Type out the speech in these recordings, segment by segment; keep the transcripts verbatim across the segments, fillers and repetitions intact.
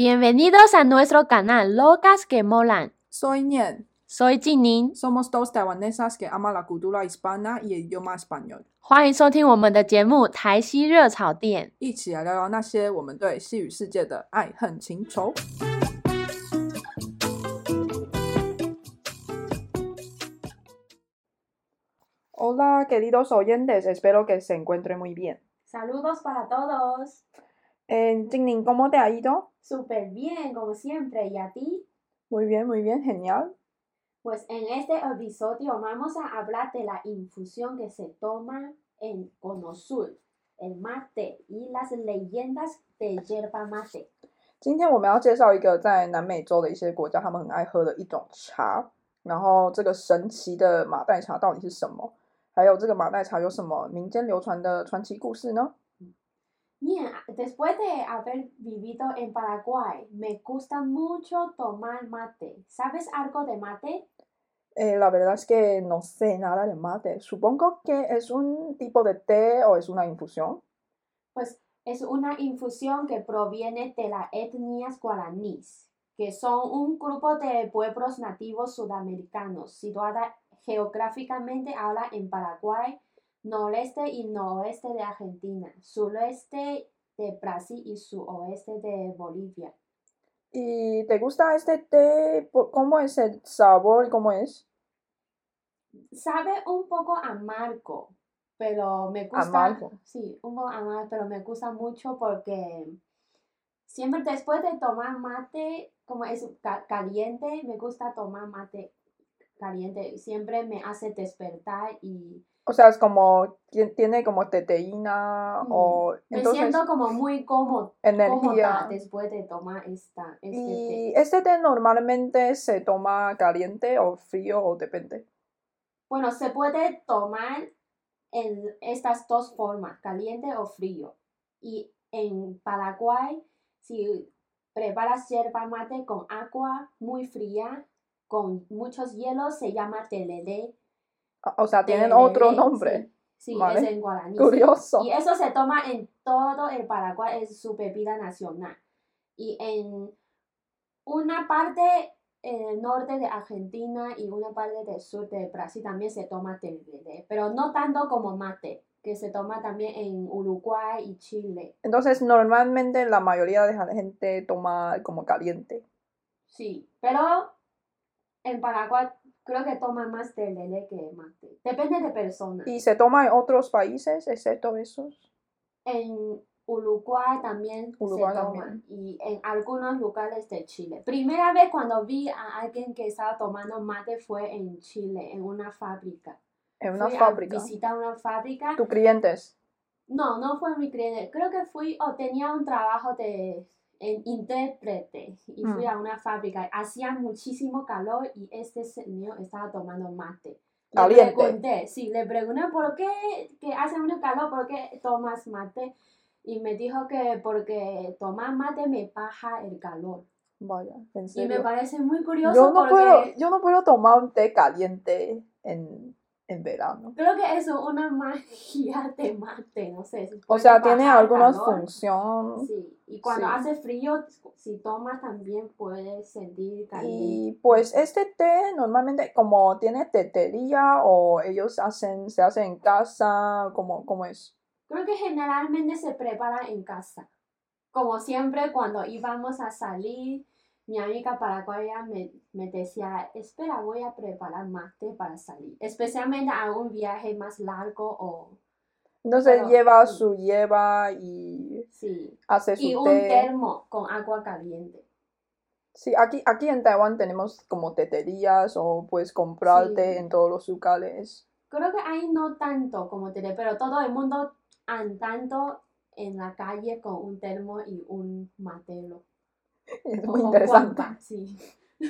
Bienvenidos a nuestro canal Locas que Molan. Soy Nian. Soy Jingning. Somos dos taiwanesas que aman la cultura hispana y el idioma español. 歡迎收聽我們的節目《台西熱炒店》， 一起來聊聊那些我們對西語世界的愛恨情仇。Hola, queridos oyentes, espero que se encuentren muy bien. Saludos para todos. Eh, Jingning, ¿cómo te ha ido? Súper bien, como siempre. ¿Y a ti? Muy bien, muy bien, genial. Pues en este episodio vamos a hablar de la infusión que se toma en Cono Sur, el mate y las leyendas de yerba mate. 今天我們要介紹一個在南美洲的一些國家他們很愛喝的一種茶，然後這個神奇的馬黛茶到底是什麼？還有這個馬黛茶有什麼民間流傳的傳奇故事呢？ Bien, después de haber vivido en Paraguay, me gusta mucho tomar mate. ¿Sabes algo de mate? Eh, la verdad es que no sé nada de mate. Supongo que es un tipo de té o es una infusión. Pues es una infusión que proviene de las etnias guaraníes, que son un grupo de pueblos nativos sudamericanos situadas geográficamente ahora en Paraguay, noreste y noroeste de Argentina, sureste de Brasil y suroeste de Bolivia. ¿Y te gusta este té? ¿Cómo es el sabor y cómo es? Sabe un poco amargo, pero me gusta. Amargo. Sí, un poco amargo, pero me gusta mucho porque siempre después de tomar mate, como es caliente, me gusta tomar mate caliente. Siempre me hace despertar y... O sea, es como, tiene como teteína mm. o... Me entonces, siento como muy cómodo, cómoda después de tomar esta, este ¿Y té. este té normalmente se toma caliente o frío o depende? Bueno, se puede tomar en estas dos formas, caliente o frío. Y en Paraguay, si preparas yerba mate con agua muy fría, con muchos hielos, se llama telele. O sea, tienen telele, otro nombre. Sí, sí vale. Es en guaraní. Curioso. Sí. Y eso se toma en todo el Paraguay, es su bebida nacional. Y en una parte en el norte de Argentina y una parte del sur de Brasil también se toma telele, pero no tanto como mate, que se toma también en Uruguay y Chile. Entonces, normalmente la mayoría de la gente toma como caliente. Sí, pero en Paraguay creo que toma más telele que mate. Depende de personas. ¿Y se toma en otros países, excepto esos? En Uruguay también Uruguay se toma también. Y en algunos lugares de Chile. Primera vez cuando vi a alguien que estaba tomando mate fue en Chile, en una fábrica. ¿En una fui fábrica? A visitar una fábrica. ¿Tus clientes? No, no fue mi cliente. Creo que fui o tenía un trabajo de en intérprete y fui mm. a una fábrica. Hacía muchísimo calor y este señor estaba tomando mate. Le Caliente. pregunté, sí, le pregunté por qué que hace mucho calor, por qué tomas mate. Y me dijo que porque tomar mate me baja el calor. Vaya, ¿en serio? Y me parece muy curioso yo no porque... Puedo, yo no puedo tomar un té caliente en, en verano. Creo que eso es una magia de mate, no sé. Si o sea, tiene alguna función. Sí, y cuando sí. hace frío, si tomas también puedes sentir caliente. Y pues este té normalmente como tiene tetería o ellos hacen, se hace en casa, ¿cómo, cómo es? Creo que generalmente se prepara en casa. Como siempre, cuando íbamos a salir, mi amiga paraguaya me, me decía, espera, voy a preparar mate para salir. Especialmente a un viaje más largo o... Entonces pero, lleva sí. su hierba y sí. hace su y té. Y un termo con agua caliente. Sí, aquí, aquí en Taiwán tenemos como teterías o puedes comprar sí. té en todos los lugares. Creo que ahí no tanto como té, pero todo el mundo andando en la calle con un termo y un matelo. Es muy interesante. Guampa, sí.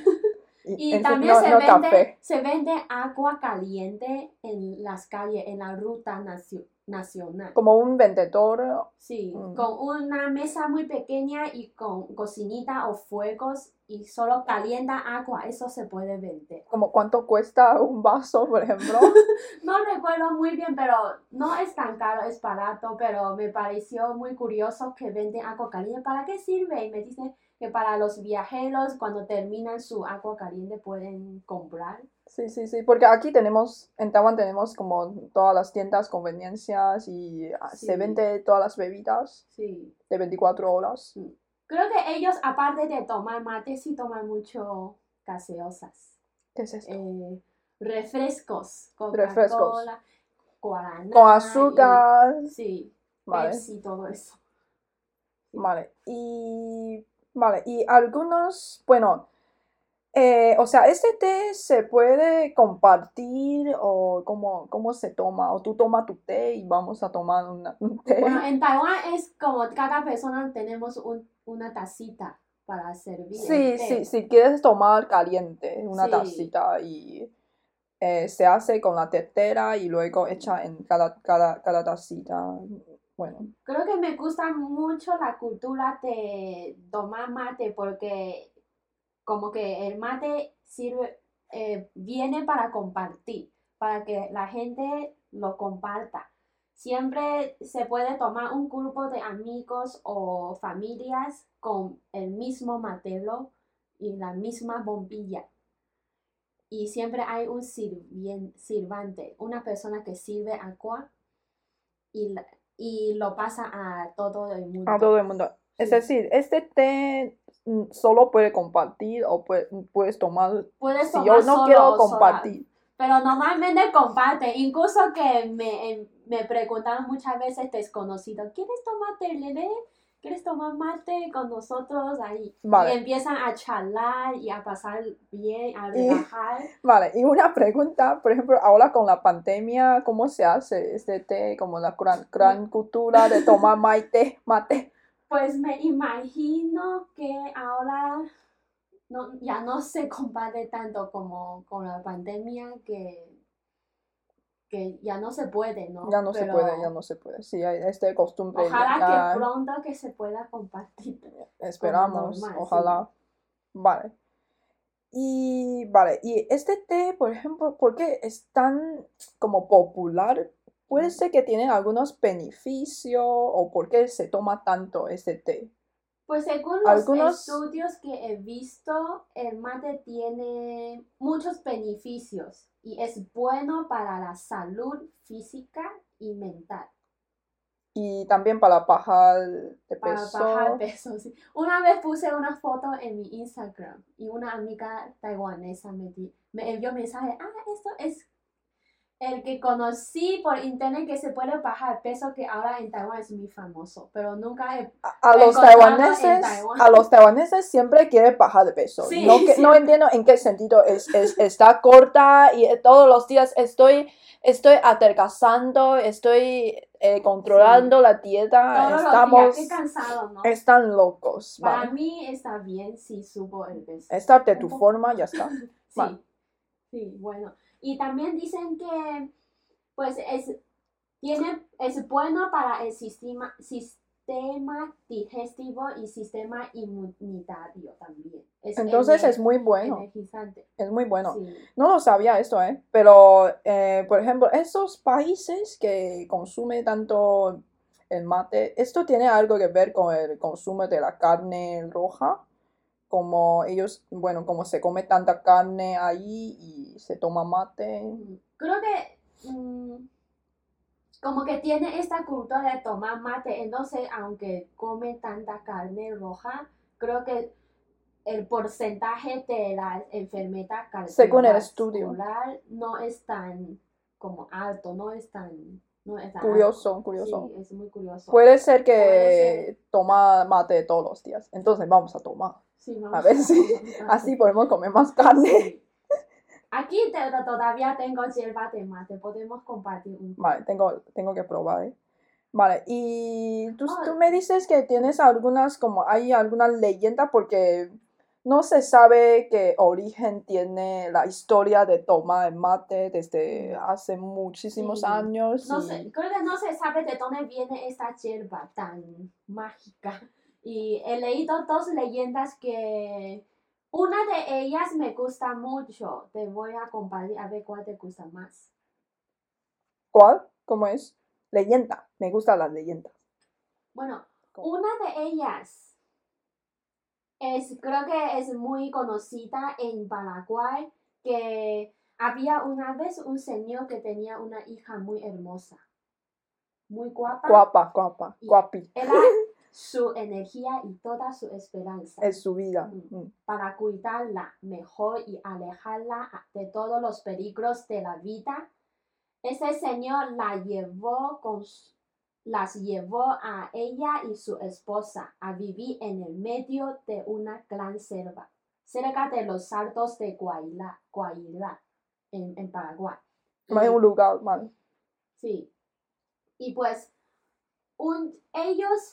y, y también no, se, no vende, se vende agua caliente en las calles, en la ruta nacio, nacional. Como un vendedor. Sí, mm. con una mesa muy pequeña y con cocinita o fuegos y solo calienta agua, eso se puede vender. ¿Como cuánto cuesta un vaso, por ejemplo? No recuerdo muy bien, pero no es tan caro, es barato, pero me pareció muy curioso que venden agua caliente. ¿Para qué sirve? Y me dicen que para los viajeros, cuando terminan su agua caliente, pueden comprar. Sí, sí, sí, porque aquí tenemos, en Taiwán tenemos como todas las tiendas, conveniencias y Sí. se vende todas las bebidas Sí. de veinticuatro horas. Sí. Creo que ellos, aparte de tomar mate, sí toman mucho gaseosas. ¿Qué es esto? Eh, refrescos, Refrescos. Coca-Cola, guaraná. Con azúcar. Y, sí, Vale. Pepsi, todo eso. Sí. Vale, y, vale, y algunos, bueno, eh, o sea, ¿este té se puede compartir o cómo, cómo se toma? ¿O tú tomas tu té y vamos a tomar una- un té? Bueno, en Taiwán es como cada persona tenemos un, una tacita para servir Sí, el té. sí, si quieres tomar caliente, una Sí. tacita y eh, se hace con la tetera y luego echa en cada, cada, cada tacita. Bueno, Creo que me gusta mucho la cultura de tomar mate porque como que el mate sirve, eh, viene para compartir, para que la gente lo comparta. Siempre se puede tomar un grupo de amigos o familias con el mismo matelo y la misma bombilla. Y siempre hay un sirvien- sirvante, una persona que sirve agua y, la- y lo pasa a todo el mundo. a todo el mundo. Es Sí. decir, este té mm, solo puede compartir o pue- puedes tomar Puedes si tomar yo no solo quiero o compartir. sola, pero normalmente comparte. Incluso que me, em, me preguntan muchas veces desconocidos, ¿quieres tomar tereré? ¿Quieres tomar mate con nosotros ahí? Vale. Y empiezan a charlar y a pasar bien, a Y- relajar. Vale, y una pregunta, por ejemplo, ahora con la pandemia, ¿cómo se hace este té? Como la gran, gran cultura de tomar mate, mate. Pues me imagino que ahora no, ya no se comparte tanto como con la pandemia que, que ya no se puede, ¿no? Ya no se Pero puede, ya no se puede. Sí, hay esta costumbre. ojalá ya que pronto que se pueda compartir. esperamos, normal, ojalá. Vale. Y vale, y este té, por ejemplo, ¿por qué es tan como popular? Puede ser que tiene algunos beneficios o por qué se toma tanto este té. Pues según los Algunos- estudios que he visto, el mate tiene muchos beneficios y es bueno para la salud física y mental. Y también para bajar de Para peso. bajar peso, sí. Una vez puse una foto en mi Instagram y una amiga taiwanesa me, di- me envió mensaje, ah, esto es el que conocí por internet que se puede bajar peso, que ahora en Taiwán es muy famoso, pero nunca he A, a los encontrado en taiwaneses, Taiwán. a los taiwaneses siempre quieren bajar de peso. Sí, no, que, sí. no entiendo en qué sentido es, es, está corta y todos los días estoy, estoy adelgazando, estoy eh, controlando la dieta. Todos Estamos, los días, qué cansado, ¿no? están locos. Para Vale. mí está bien si subo el peso. Estar de tu Un poco. forma, ya está. Sí, Vale. sí, bueno. Y también dicen que pues es, tiene, es bueno para el sistema, sistema digestivo y sistema inmunitario también. Es Entonces ener- es muy bueno. energizante. Es muy bueno. Sí. No lo sabía esto, ¿eh? Pero, eh, por ejemplo, esos países que consumen tanto el mate, ¿esto tiene algo que ver con el consumo de la carne roja? Como ellos, bueno, como se come tanta carne ahí y se toma mate. Creo que mm, como que tiene esta cultura de tomar mate, entonces aunque come tanta carne roja, creo que el porcentaje de la enfermedad Según el estudio. cardiovascular no es tan como alto, no es tan, no es tan Curioso, alto. curioso. Sí, es muy curioso. Puede ser que Puede toma mate todos los días. Entonces vamos a tomar. Sí, vamos A ver si tomar mate. así podemos comer más carne. Sí. Aquí te- todavía tengo hierba de mate, podemos compartir un poco. Vale, tengo, tengo que probar, ¿eh? Vale, y tú, Oh. tú me dices que tienes algunas, como hay alguna leyenda porque no se sabe qué origen tiene la historia de tomar el mate desde hace muchísimos Sí. años. No y- sé, creo que no se sabe de dónde viene esta hierba tan mágica. Y he leído dos leyendas que Una de ellas me gusta mucho. Te voy a compartir a ver cuál te gusta más. ¿Cuál? ¿Cómo es? Leyenda. Me gustan las leyendas. Bueno, una de ellas es, creo que es muy conocida en Paraguay, que había una vez un señor que tenía una hija muy hermosa, muy guapa. Guapa, guapa, guapi. Era su energía y toda su esperanza. Es su vida. Mm. Para cuidarla mejor y alejarla de todos los peligros de la vida. Ese señor la llevó con, las llevó a ella y su esposa a vivir en el medio de una gran selva, cerca de los Altos de Guairá, Guairá en, en Paraguay. No es un lugar mal. Sí. Y pues un, ellos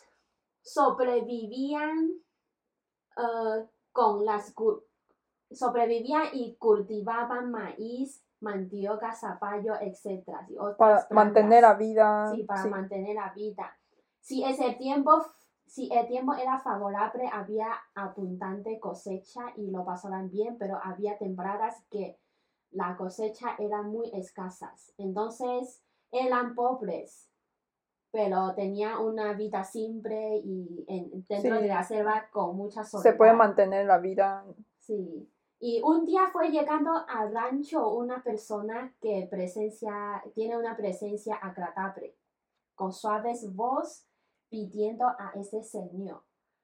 sobrevivían uh, con las sobrevivían y cultivaban maíz, mandioca, zapallo, etcétera. Para mantener la vida. Sí, para sí. mantener la vida. Si ese tiempo, si el tiempo era favorable, había abundante cosecha y lo pasaban bien, pero había temporadas que la cosecha era muy escasas. Entonces eran pobres, pero tenía una vida simple y en, dentro sí. de la selva con mucha soledad. Se puede mantener la vida. Sí. Y un día fue llegando al rancho una persona que presencia, tiene una presencia agradable, con suaves voz, pidiendo a ese señor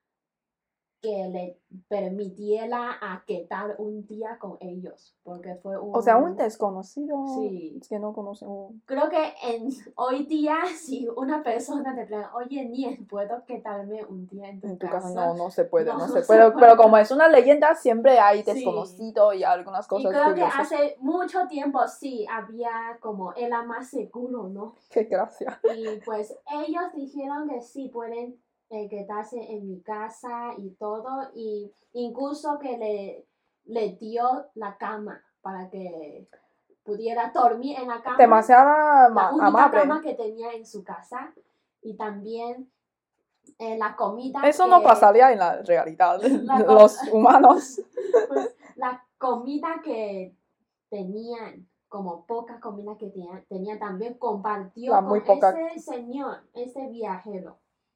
que le permitiera a quedar un día con ellos, porque fue un... O sea, un desconocido. Sí. Es que no conocemos. Creo que en, hoy día, si una persona te pregunta, oye, Niel, ¿puedo quedarme un día en tu, en tu casa? casa? No, no se puede, no, no, no se se puede. puede. Pero como es una leyenda, siempre hay desconocido Sí. y algunas cosas y creo curiosas. que hace mucho tiempo sí, había como, era más seguro, ¿no? Qué gracia. Y pues ellos dijeron que sí, pueden eh, quedarse en mi casa y todo, y incluso que le, le dio la cama para que pudiera dormir en la cama. Demasiada la única amable. cama que tenía en su casa, y también eh, la comida. Eso que, no pasaría en la realidad, la los humanos. Pues la comida que tenían, como poca comida que tenían, tenía también compartió La con muy poca... ese señor, ese viajero.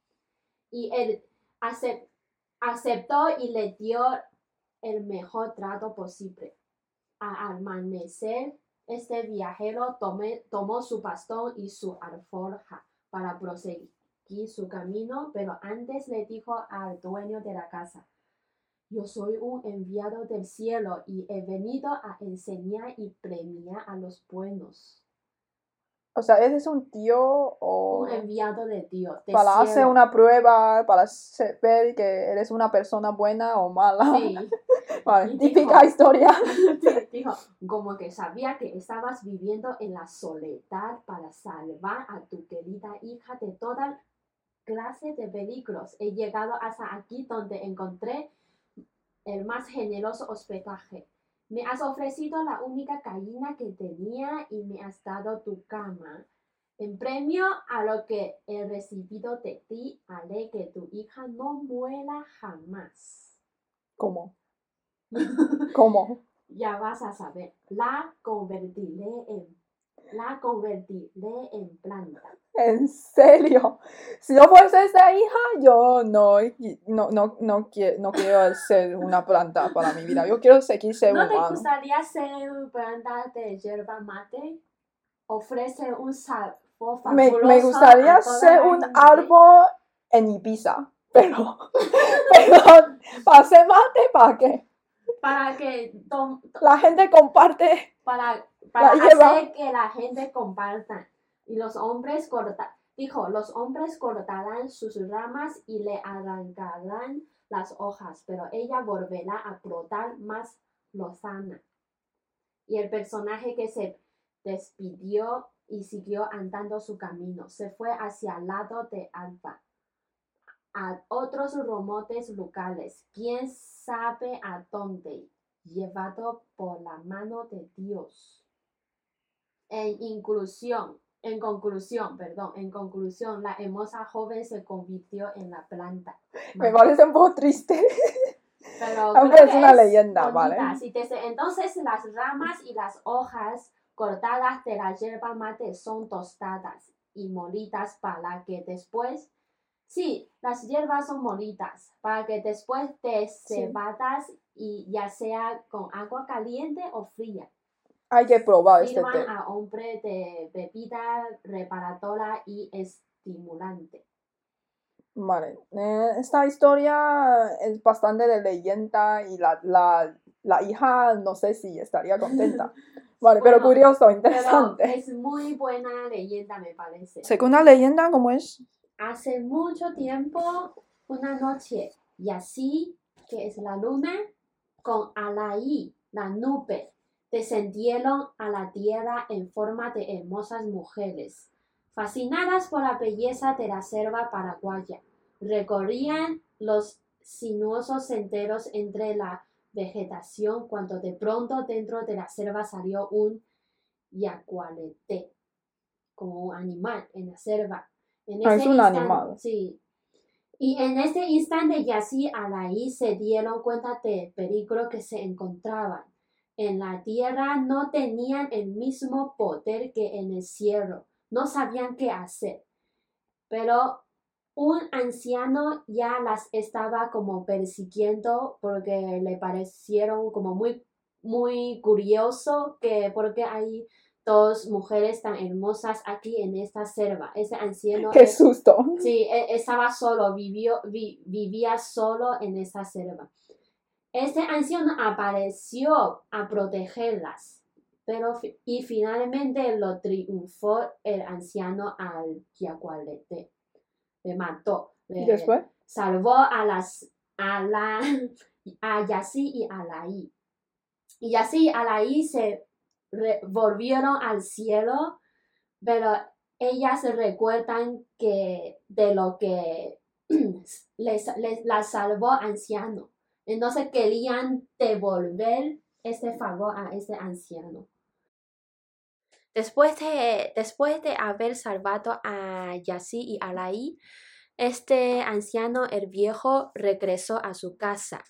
Y él acept, aceptó y le dio el mejor trato posible. Al amanecer, este viajero tomé, tomó su bastón y su alforja para proseguir su camino, pero antes le dijo al dueño de la casa: yo soy un enviado del cielo y he venido a enseñar y premiar a los buenos. O sea, ¿eres un tío o...? Un enviado de Dios, de para cielo. hacer una prueba, para ver que eres una persona buena o mala. Sí. Vale, típica dijo, historia. Dijo, como que sabía que estabas viviendo en la soledad para salvar a tu querida hija de toda clase de peligros. He llegado hasta aquí donde encontré el más generoso hospedaje. Me has ofrecido la única gallina que tenía y me has dado tu cama. En premio a lo que he recibido de ti, haré que tu hija no muera jamás. ¿Cómo? ¿Cómo? Ya vas a saber. La convertiré en, la convertiré en planta. ¿En serio? Si yo fuese esa hija, yo no, no, no, no, quiero, no quiero ser una planta para mi vida. Yo quiero seguir ser ¿No humano. ¿No te gustaría ser planta de yerba mate? Ofrece un sabor fabuloso. Me, me gustaría ser un gente. árbol en Ibiza. Pero, pero para hacer mate, ¿para qué? Para que tom, tom, la gente comparte. Para, para hacer que la gente comparta. Y los hombres cortan, dijo, los hombres cortarán sus ramas y le arrancarán las hojas, pero ella volverá a brotar más lozana. Y el personaje que se despidió y siguió andando su camino, se fue hacia el lado de Alba, a otros remotos locales, quién sabe a dónde, llevado por la mano de Dios. En inclusión, en conclusión, perdón, en conclusión, la hermosa joven se convirtió en la planta. Me parece un poco triste. Pero aunque creo es que una es leyenda, bonita. ¿vale? Sí, desde entonces las ramas y las hojas cortadas de la yerba mate son tostadas y molidas para que después, sí, las hierbas son molidas para que después de cebadas y ya sea con agua caliente o fría. Hay que probar este Sirvan té. a hombre de bebida reparadora y estimulante. Vale, eh, esta historia es bastante de leyenda y la, la, la hija no sé si estaría contenta. Vale, Bueno, pero curioso, Pero interesante. es muy buena leyenda, me parece. Segunda leyenda, ¿cómo es? Hace mucho tiempo, una noche, Yasí, que es la luna, con Alaí, la nube, descendieron a la tierra en forma de hermosas mujeres. Fascinadas por la belleza de la selva paraguaya, recorrían los sinuosos senderos entre la vegetación cuando de pronto dentro de la selva salió un yacualete, como un animal en la selva. En Ah, ese es un instante, animal. sí. Y en ese instante Yasí y Alaí se dieron cuenta del peligro que se encontraban. En la tierra no tenían el mismo poder que en el cielo. No sabían qué hacer. Pero un anciano ya las estaba como persiguiendo porque le parecieron como muy, muy curioso que porque hay dos mujeres tan hermosas aquí en esta selva. Ese anciano ¡Qué es, susto! sí, e- estaba solo, vivió, vi- vivía solo en esa selva. Este anciano apareció a protegerlas, pero fi- y finalmente lo triunfó el anciano al yacualete. Le mató, ¿Y le después? salvó a las a la a Yasí y Alaí. Y Yasí y Alaí se re- volvieron al cielo, pero ellas recuerdan que de lo que les, les la salvó anciano. Entonces querían devolver este favor a ese anciano. Después de, después de haber salvado a Yasí y Alaí, este anciano, el viejo, regresó a su casa.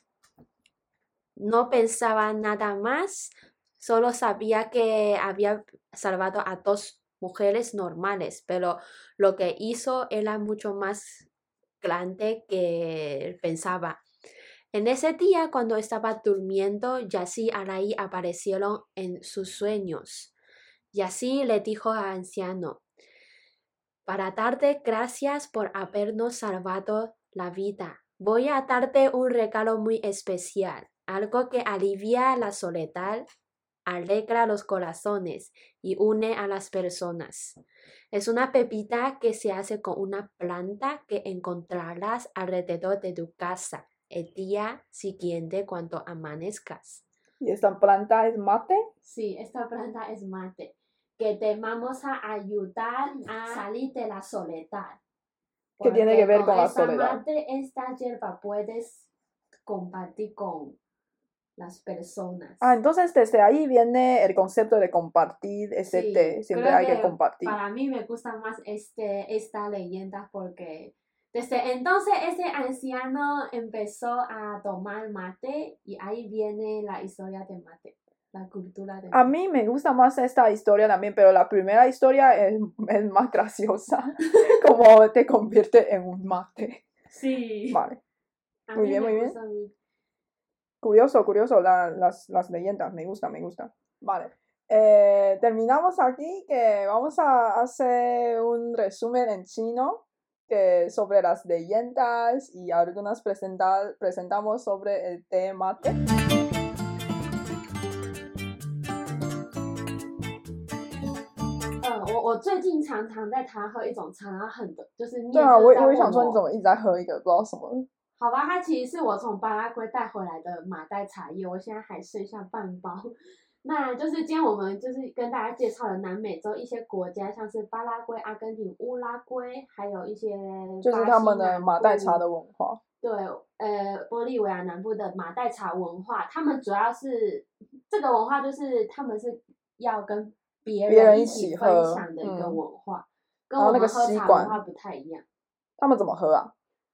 No pensaba nada más, solo sabía que había salvado a dos mujeres normales, pero lo que hizo era mucho más grande que pensaba. En ese día, cuando estaba durmiendo, Yasí y Alaí aparecieron en sus sueños. Yasí le dijo al anciano: para darte gracias por habernos salvado la vida, voy a darte un regalo muy especial, algo que alivia la soledad, alegra los corazones y une a las personas. Es una pepita que se hace con una planta que encontrarás alrededor de tu casa el día siguiente cuando amanezcas. ¿Y esta planta es mate? Sí, esta planta es mate, que te vamos a ayudar a salir de la soledad. ¿Qué tiene que ver con con la esta soledad? mate, esta hierba puedes compartir con las personas. Ah, entonces desde ahí viene el concepto de compartir ese Sí, té. Siempre creo hay que que compartir. para mí me gusta más este, esta leyenda porque desde entonces ese anciano empezó a tomar mate y ahí viene la historia de mate, la cultura de mate. A mí me gusta más esta historia también, pero la primera historia es, es más graciosa, como te convierte en un mate. Sí. Vale. A Muy mí bien, me muy bien. gusta mucho. Curioso, curioso, la- las, las leyendas, me gusta, me gusta. Vale. Eh, terminamos aquí, que vamos a hacer un resumen en chino que sobre las leyendas y algunas presenta- presentamos sobre el té mate. 呃，我我最近常常在台湾喝一种茶，然后很多就是对啊，我也念就是在问我也想说，你怎我， 么一直在喝一个不知道什么？ 好吧，它其實是我從巴拉圭帶回來的馬黛茶葉，我現在還剩下半包。那就是今天我們就是跟大家介紹了南美洲一些國家，像是巴拉圭、阿根廷、烏拉圭，還有一些就是他們的馬黛茶的文化。 對，呃，玻利維亞南部的馬黛茶文化，他們主要是這個文化就是他們是要跟別人一起分享的一個文化，跟我們喝茶文化不太一樣。 他們怎麼喝啊？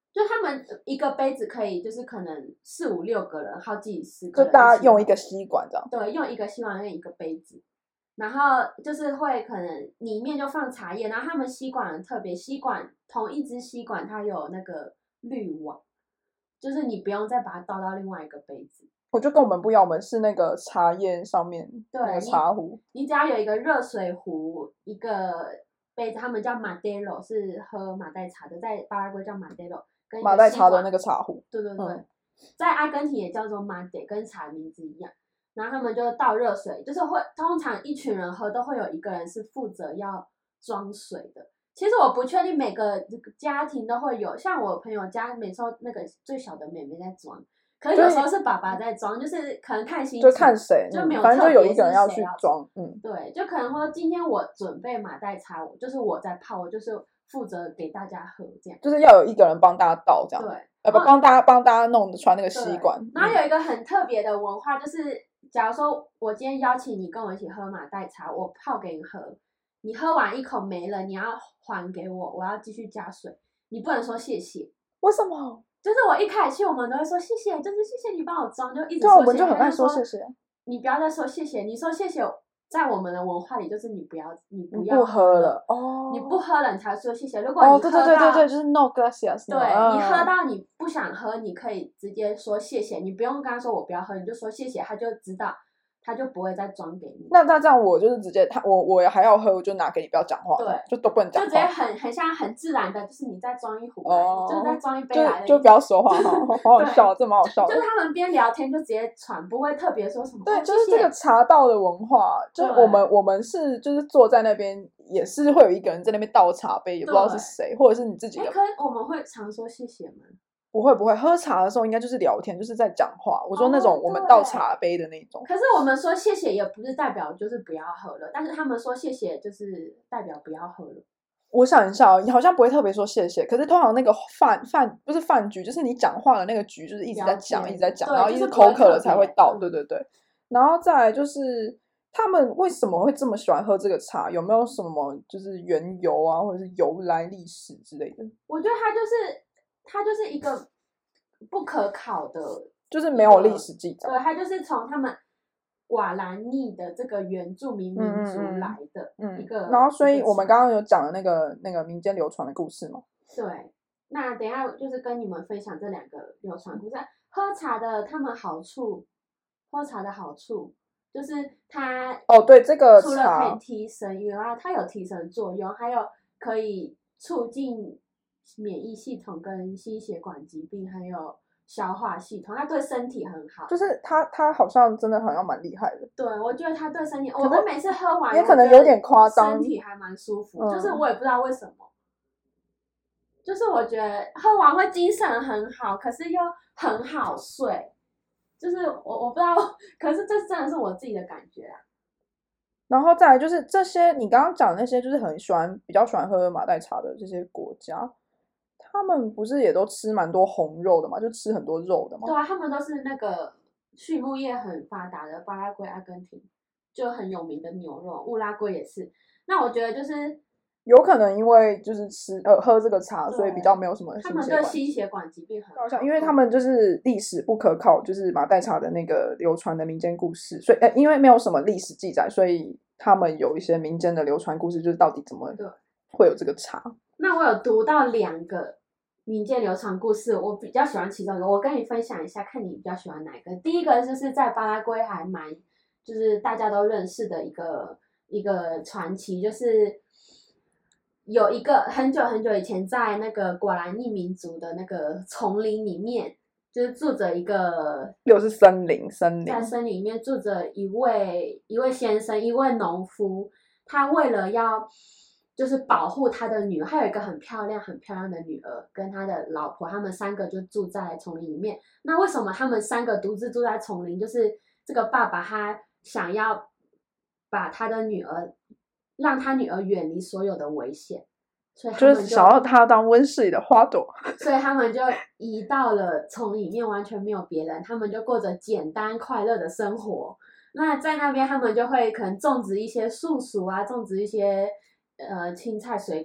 就他們一個杯子可以，就是可能四五六個人，好幾十個人， 就大家用一個吸管這樣。 對，用一個吸管跟一個杯子，然後就是會可能裡面就放茶葉，然後他們吸管很特別，吸管同一支吸管它有那個濾網，就是你不用再把它倒到另外一個杯子。 我就跟我們不一樣，我們是那個茶葉上面對那個茶壺， 你，你只要有一個熱水壺，一個杯子，他們叫 Madero， 是喝馬黛茶的，在巴拉圭叫 Madero， 跟馬黛茶的那個茶壺。 對對對， 嗯、 在阿根廷也叫做 Mate， 跟茶名字一樣。然後他們就倒熱水，就是會通常一群人喝都會有一個人是負責要裝水的。其實我不確定每個家庭都會有，像我朋友家每次那個最小的妹妹在裝。可是有時候是爸爸在裝，就是可能看心情， 就看誰， 就沒有， 反正就有一個人要去裝，嗯， 對，就可能說今天我準備馬黛茶，就是我在泡，我就是負責給大家喝，這樣， 就是要有一個人幫大家倒，這樣，對，呃，不，幫大家幫大家弄穿那個吸管。 然後有一個很特別的文化，就是假如說我今天邀請你跟我一起喝馬黛茶，我泡給你喝，你喝完一口沒了，你要還給我，我要繼續加水，你不能說謝謝。 為什麼？ 就是我一開始去，我們都會說謝謝，就是謝謝你幫我裝，就一直說謝謝。對，我們就很愛說謝謝。 你不要再說謝謝，你說謝謝，在我們的文化裡就是你不要，你不要不喝了哦， 你不喝了你才說謝謝。如果你喝到， 哦，對對對對對，就是 no gracias。 對、 嗯、 你喝到你不想喝，你可以直接說謝謝，你不用跟他說我不要喝，你就說謝謝，他就知道。他就不會再裝給你。 那那這樣我就是直接他我我還要喝，我就拿給你，不要講話，對，就都不能講話， 就直接很很像很自然的，就是你再裝一壺來，哦、就是再裝一杯來的， 就就不要說話哈，好好笑，這蠻好笑的。 就是他們邊聊天就直接傳，不會特別說什麼。 對，就是這個茶道的文化，就是我們我們是就是坐在那邊，也是會有一個人在那邊倒茶杯，也不知道是誰，或者是你自己的。 可是我們會常說謝謝嗎？ 不會不會，喝茶的時候應該就是聊天，就是在講話。我說那種我們倒茶杯的那種。 可是我們說謝謝也不是代表就是不要喝了，但是他們說謝謝就是代表不要喝了。 我想一下，你好像不會特別說謝謝，可是通常那個飯飯不是飯局，就是你講話的那個局，就是一直在講一直在講，然後一直口渴了才會倒。對對對，然後再來就是他們為什麼會這麼喜歡喝這個茶？有沒有什麼就是緣由啊，或者是由來歷史之類的？ 我覺得它就是。它就是一個不可考的， 就是沒有歷史記載。 對，它就是從他們瓦蘭尼的這個原住民民族來的一個。嗯嗯、 然後，所以我們剛剛有講的那個那個民間流傳的故事嘛。 對，那等一下就是跟你們分享這兩個流傳故事。喝茶的他們好處，喝茶的好處就是它哦，對，這個除了可以提神以外，它有提神作用，還有可以促進免疫系統跟心血管疾病，還有消化系統，它對身體很好。 就是它，它好像真的好像蠻厲害的。 對，我覺得它對身體，我們每次喝完也可能有點誇張， 身體還蠻舒服。嗯、就是我也不知道為什麼，就是我覺得喝完會精神很好，可是又很好睡。就是我我不知道，可是這真的是我自己的感覺啊。 然後再來就是這些，你剛剛講的那些，就是很喜歡比較喜歡喝馬黛茶的這些國家。他們不是也都吃蠻多紅肉的嘛，就吃很多肉的嘛。 對啊，他們都是那個畜牧業很發達的，巴拉圭、阿根廷就很有名的牛肉，烏拉圭也是。那我覺得就是有可能因為就是吃呃喝這個茶，所以比較沒有什麼心血管。 他們對心血管疾病很好， 因為他們就是歷史不可靠，就是馬黛茶的那個流傳的民間故事，所以呃因為沒有什麼歷史記載，所以他們有一些民間的流傳故事，就是到底怎麼會有這個茶。 那我有讀到兩個民間流傳故事，我比較喜歡其中一個，我跟你分享一下，看你比較喜歡哪一個。第一個就是在巴拉圭還蠻，就是大家都認識的一個一個傳奇，就是有一個很久很久以前，在那個瓜蘭尼民族的那個叢林裡面，就是住着一個， 又是森林，森林在森林裡面住着一位一位先生，一位農夫，他為了要就是保護他的女兒，他有一個很漂亮、很漂亮的女兒，跟他的老婆，他們三個就住在叢林裡面。那為什麼他們三個獨自住在叢林？就是這個爸爸他想要把他的女兒，讓他女兒遠離所有的危險，所以他們就， 就是想要他當溫室裡的花朵， 所以他們就移到了叢裡面，完全沒有別人，他們就過着簡單快樂的生活。那在那邊，他們就會可能種植一些樹薯啊，種植一些。呃，青菜水果，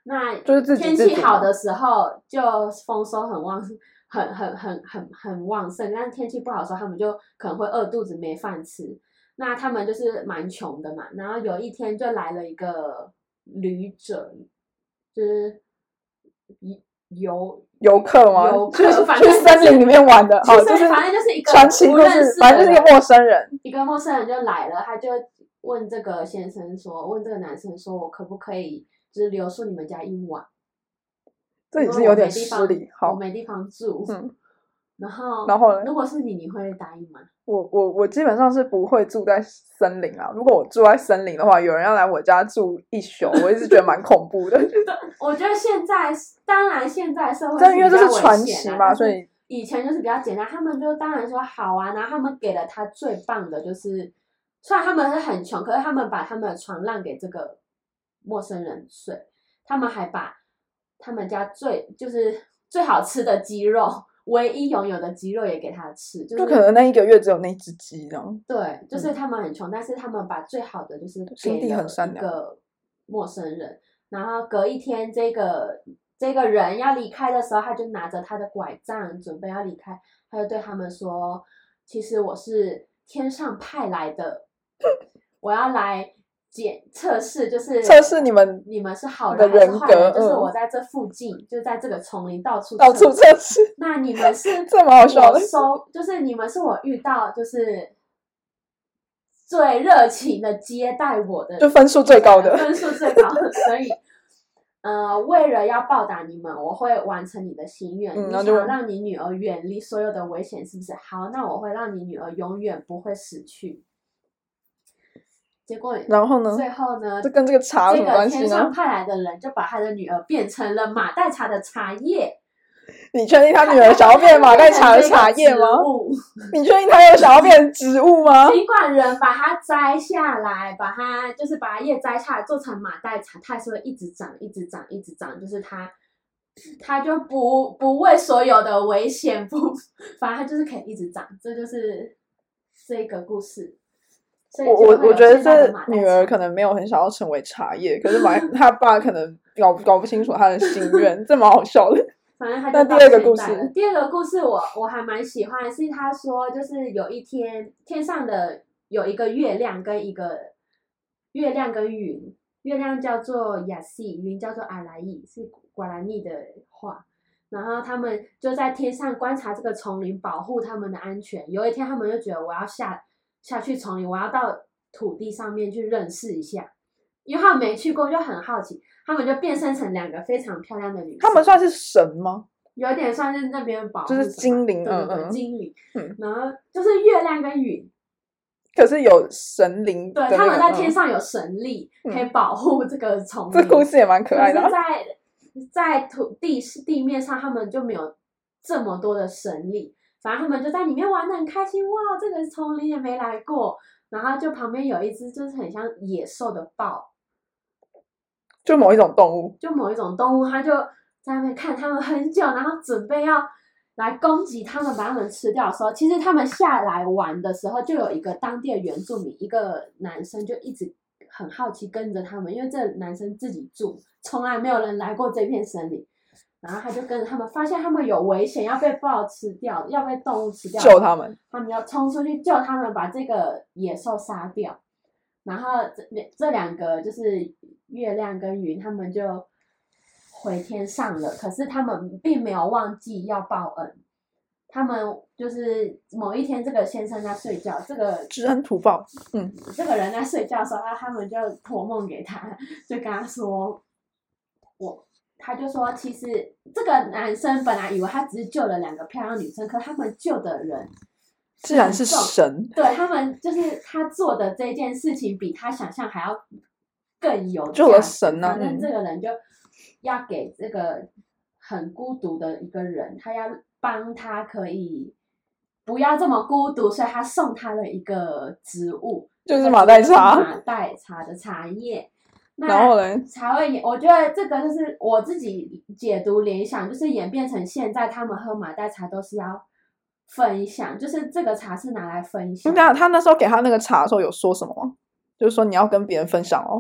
那就是自己天氣好的時候就丰收很旺，很很很很很旺盛，但是天氣不好的時候，他們就可能會餓肚子沒飯吃。那他們就是蠻窮的嘛，然後有一天就來了一個旅者，就是游遊客嗎？ 遊客， 去反正、就是、 去森林裡面玩的，好，就是反正就是一個傳奇故事，反正就是一個陌生人， 一個陌生人就來了，他就問這個先生說，問這個男生說，我可不可以就是留宿你們家一晚？ 這也是有點失禮，好， 我沒地方住，嗯，然後然後呢？ 如果是你，你會答應嗎？ 我我我基本上是不會住在森林啊。如果我住在森林的話，有人要來我家住一宿，我一直覺得蠻恐怖的。 我覺得現在，當然現在社會是比較危險， 因為這是傳奇嘛，所以以前就是比較簡單。他們就當然說好啊，然後他們給了他最棒的，就是雖然他們是很窮，可是他們把他們的床讓給這個陌生人睡，他們還把他們家最就是最好吃的雞肉。唯一擁有的雞肉也給他吃，就是就可能那一個月只有那隻雞這樣。 對，就是他們很窮，嗯、但是他們把最好的就是給了一個陌生人。然後隔一天，這個這個人要離開的時候，他就拿着他的拐杖準備要離開，他就對他們說：“其實我是天上派來的，我要來。”檢測試就是測試你們你們是好人還是壞人，就是我在這附近，嗯、就在這個叢林到處到處測試。 那你們是這麼好笑的， 收就是你們是我遇到就是最熱情的接待我的， 就分數最高的， 分數最高的。所以，呃，為了要報答你們，我會完成你的心願。嗯、你想讓你女兒遠離所有的危險，是不是？好，那我會讓你女兒永遠不會死去。結果， 然後呢？ 最後呢？ 這跟這個茶有什麼關係呢？這個天上派來的人就把他的女兒變成了馬黛茶的茶葉。 你確定他女兒想要變馬黛茶的茶葉嗎？你確定他有想要變植物嗎？ 儘管人把它摘下來，把它就是把葉摘下來做成馬黛茶，它還是會一直長，一直長，一直長。就是它，它就不不畏所有的危險，不，反正它就是可以一直長。這就是這個故事。 我我我覺得這女兒可能沒有很想要成為茶葉，可是馬他爸可能搞搞不清楚他的心願，這蠻好笑的。 反正他那第二個故事， 第二個故事我我還蠻喜歡，是他說就是有一天天上的有一個月亮跟一個月亮跟雲，月亮叫做亞西，雲叫做阿來伊，是瓜拉尼的話。然後他們就在天上觀察這個叢林，保護他們的安全。有一天他們就覺得我要下。下去叢林，我要到土地上面去認識一下，因為他們沒去過，就很好奇。他們就變身成兩個非常漂亮的女生。 他們算是神嗎？ 有點算是那邊保護， 就是精靈， 對對對， 嗯嗯精靈。 嗯， 然後就是月亮跟雲， 可是有神靈、那個， 對，他們在天上有神力，嗯、可以保護這個叢林。 這故事也蠻可愛的、啊。 可是在在土地地面上，他們就沒有這麼多的神力。反正他們就在裡面玩得很開心，哇！這個叢林也沒來過，然後就旁邊有一隻就是很像野獸的豹， 就某一種動物， 就某一種動物，他就在那邊看他們很久，然後準備要來攻擊他們，把他們吃掉的時候，其實他們下來玩的時候，就有一個當地的原住民，一個男生就一直很好奇跟着他們，因為這個男生自己住，從來沒有人來過這片森林。然後他就跟着他們，發現他們有危險，要被豹吃掉，要被動物吃掉， 救他們。 他們要衝出去救他們，把這個野獸殺掉。然後這這兩個就是月亮跟雲，他們就回天上了。可是他們並沒有忘記要報恩。他們就是某一天，這個先生在睡覺，這個知恩圖報，嗯， 這個人在睡覺的時候，他他們就托夢給他，就跟他說，我。他就說，其實這個男生本來以為他只是救了兩個漂亮女生，可他們救的人自然是神。 對，他們就是他做的這件事情，比他想象還要更有價值。 救了神啊！ 反正這個人就要給這個很孤獨的一個人，他要幫他可以不要這麼孤獨，所以他送他了一個植物， 就是馬黛茶， 馬黛茶的茶葉。 然後呢？ 才會演，我覺得這個就是我自己解讀聯想，就是演變成現在他們喝馬黛茶都是要分享，就是這個茶是拿來分享。 那他那時候給他那個茶的時候有說什麼嗎？就是說你要跟別人分享哦。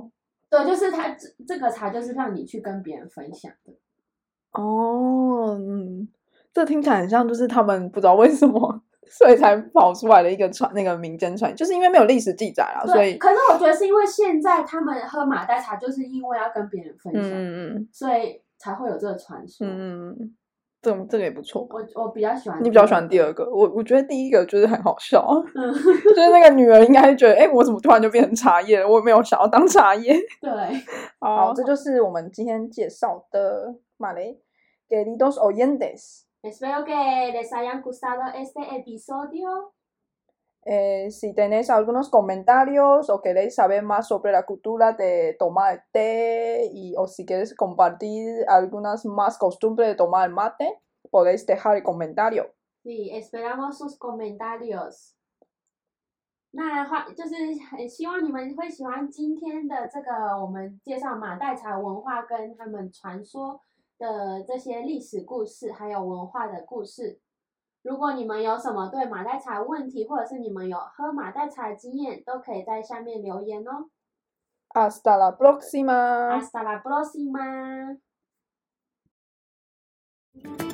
對，就是它這這個茶就是讓你去跟別人分享的。 哦，嗯，這聽起來很像就是他們不知道為什麼，所以才跑出來的一個傳那個民間傳，就是因為沒有歷史記載啦，所以。 可是我覺得是因為現在他們喝馬黛茶，就是因為要跟別人分享， 嗯嗯， 所以才會有這個傳說。 嗯嗯。這這個也不錯， 我我比較喜歡。 你比較喜歡第二個，我我覺得第一個就是很好笑，嗯、就是那個女兒應該覺得，哎、欸，我怎麼突然就變成茶葉了？我也沒有想要當茶葉。 對， 好，好，這就是我們今天介紹的馬雷 Queridos oyentes. Espero que les hayan gustado este episodio. Eh, si tenéis algunos comentarios o queréis saber más sobre la cultura de tomar el té y o si quieres compartir algunas más costumbres de tomar el mate, podéis dejar el comentario. Sí, esperamos sus comentarios. 那話就是很希望你們會喜歡今天的這個我們介紹馬黛茶文化跟他們傳說的這些歷史故事，還有文化的故事。如果你們有什麼對馬黛茶問題，或者是你們有喝馬黛茶的經驗，都可以在下面留言哦。 Hasta la próxima. Hasta la próxima.